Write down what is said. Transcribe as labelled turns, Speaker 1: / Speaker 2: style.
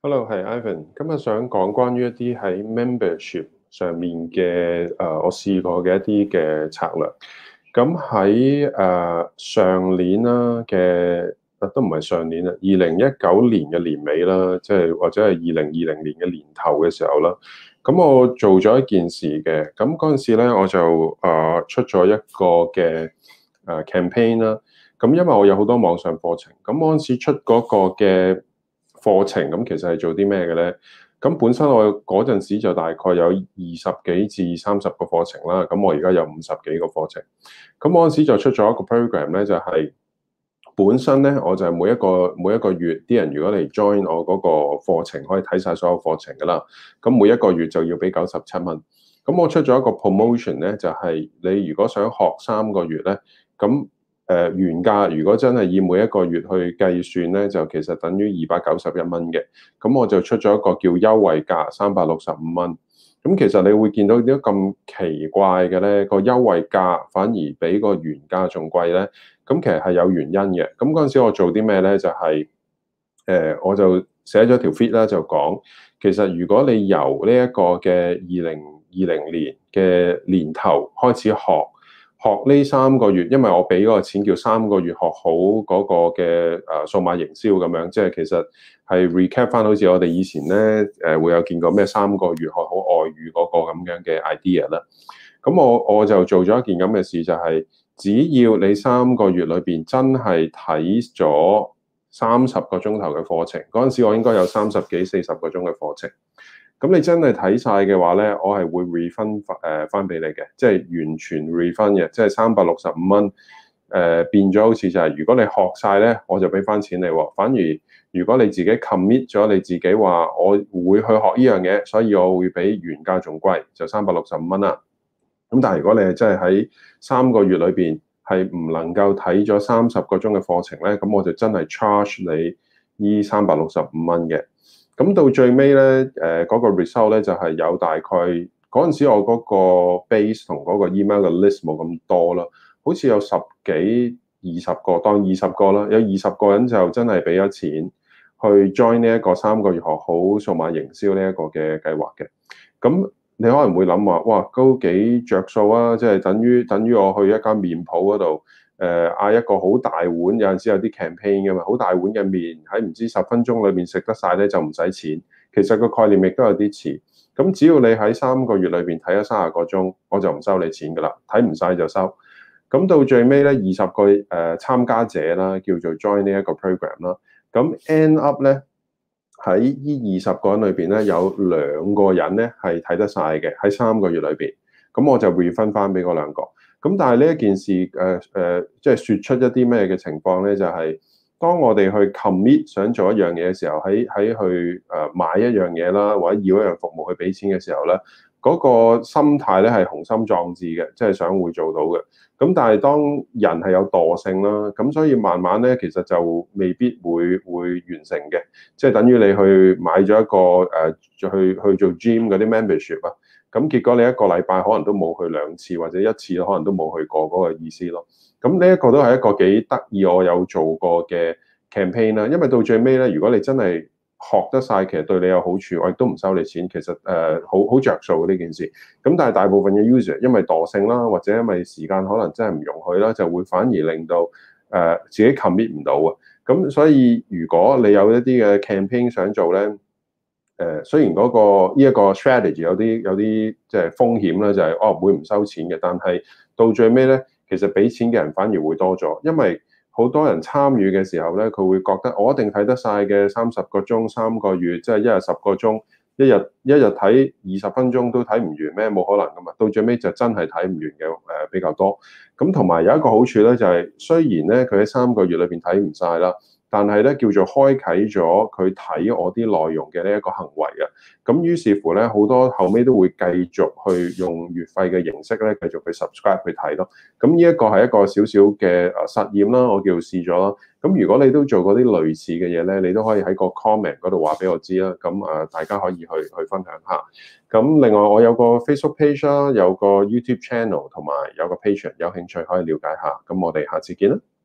Speaker 1: Hello，係 Ivan。今日想講關於一啲喺 membership 上面嘅我試過嘅一啲嘅策略。咁喺上年啦嘅，都唔係上年啦，2019年嘅年尾啦，即係或者係2020年嘅年頭嘅時候啦。咁我做咗一件事嘅，咁嗰陣時咧我就出咗一個嘅campaign 啦。咁因為我有好多網上課程，咁嗰陣時出嗰個嘅課程，咁其實係做啲咩嘅咧？咁本身我嗰陣時就大概有20幾至30個課程啦，咁我而家有50幾個課程。咁嗰陣時就出咗一個 program 咧，就係本身咧我就係每一個月啲人如果嚟 join 我嗰個課程，可以睇晒所有課程噶啦。咁每一個月就要俾97蚊。咁我出咗一個 promotion 咧，就係你如果想學3個月咧，咁原價如果真係以每一個月去計算咧，就其實等於291蚊嘅。咁我就出咗一個叫優惠價365蚊。咁其實你會見到點解咁奇怪嘅咧？個優惠價反而比個原價仲貴咧？咁其實係有原因嘅。咁嗰陣時我做啲咩咧？就係我就寫咗條 feed 啦，就講其實如果你由呢一個嘅2020年嘅年頭開始學呢3個月，因為我俾嗰個錢叫3個月學好嗰個嘅數碼營銷咁樣，即係其實係 recap 翻好似我哋以前咧會有見過咩3個月學好外語嗰個咁樣嘅 idea 啦。咁我就做咗一件咁嘅事，就係只要你3個月裏邊真係睇咗30個鐘頭嘅課程，嗰陣時我應該有30幾40個鐘嘅課程。咁你真係睇晒嘅話咧，我係會 refund 翻俾你嘅，即係完全 refund 嘅，即係365蚊。變咗好似就係如果你學晒咧，我就俾翻錢你喎。反而如果你自己 commit 咗你自己話我會去學呢樣嘢，所以我會比原價仲貴，就365蚊啦。咁但係如果你係真係喺3個月裏邊係唔能夠睇咗30個鐘嘅課程咧，咁我就真係 charge 你呢365蚊嘅。咁到最尾咧，嗰個 result 咧就係有大概嗰陣時我嗰個 base 同嗰個 email 嘅 list 冇咁多啦，好似有10幾20個，當20個啦，有20個人就真係俾咗錢去 join 呢一個3個月學好數碼營銷呢一個嘅計劃嘅。咁你可能會諗話，哇，都幾着數啊！即係等於我去一間麵鋪嗰度，嗌一個好大碗，有陣時有啲 campaign 噶嘛，好大碗嘅麵喺唔知10分鐘裏面食得晒咧，就唔使錢。其實個概念亦都有啲似。咁只要你喺3個月裏邊睇咗30個鐘，我就唔收你錢噶啦，睇唔晒就收。咁到最尾咧，20個參加者啦，叫做 join 呢一個 program 啦。咁 end up 咧。喺呢20個人裏邊咧，有2個人咧係睇得晒嘅，喺3個月裏邊，咁我就 refund 翻俾嗰2個。咁但係呢一件事即係説出一啲咩嘅情況咧，就係當我哋去 commit 想做一樣嘢嘅時候，喺去買一樣嘢啦，或者要一樣服務去俾錢嘅時候咧，嗰個心態咧係雄心壯志嘅，即係想會做到嘅。咁但係當人係有惰性啦，咁所以慢慢咧，其實就未必會完成嘅。即係等於你去買咗一個去做 gym 嗰啲 membership 啊，咁結果你一個禮拜可能都冇去2次，或者1次可能都冇去過嗰個意思咯。咁呢一個都係一個幾得意我有做過嘅 campaign 啦。因為到最尾咧，如果你真係學得晒，其實對你有好處，我亦都唔收你錢。其實好着數呢件事。咁但係大部分嘅 user 因為惰性啦，或者因為時間可能真係唔容許啦，就會反而令到自己 commit 唔到啊。咁所以如果你有一啲嘅 campaign 想做咧，雖然呢一個 strategy 有啲即係風險啦，就係會唔收錢嘅，但係到最尾咧，其實俾錢嘅人反而會多咗，因為好多人參與嘅時候咧，佢會覺得我一定睇得晒嘅30個鐘3個月，即係一日10個鐘，一日睇20分鐘都睇唔完咩？冇可能噶嘛，到最尾就真係睇唔完嘅比較多。咁同埋有一個好處咧，就係雖然咧佢喺3個月裏邊睇唔晒啦。但係咧叫做開啟咗佢睇我啲內容嘅呢一個行為啊，咁於是乎咧好多後尾都會繼續去用月費嘅形式咧繼續去 subscribe 去睇咯。咁呢一個係一個少少嘅實驗啦，我叫試咗啦。咁如果你都做過啲類似嘅嘢咧，你都可以喺個 comment 嗰度話俾我知啦。咁大家可以去分享下。咁另外我有個 Facebook page 啦，有個 YouTube channel 同埋有個 Patreon，有興趣可以了解下。咁我哋下次見啦。